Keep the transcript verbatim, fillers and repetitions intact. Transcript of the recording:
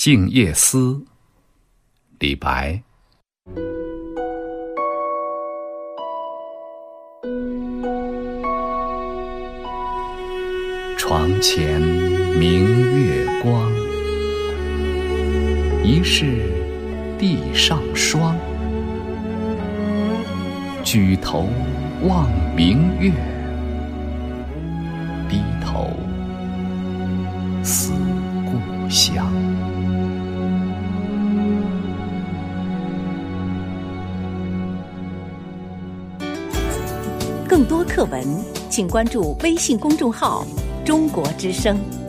静夜思，李白。床前明月光，疑是地上霜。举头望明月，低头思故乡。 更多课文，请关注微信公众号“中国之声”。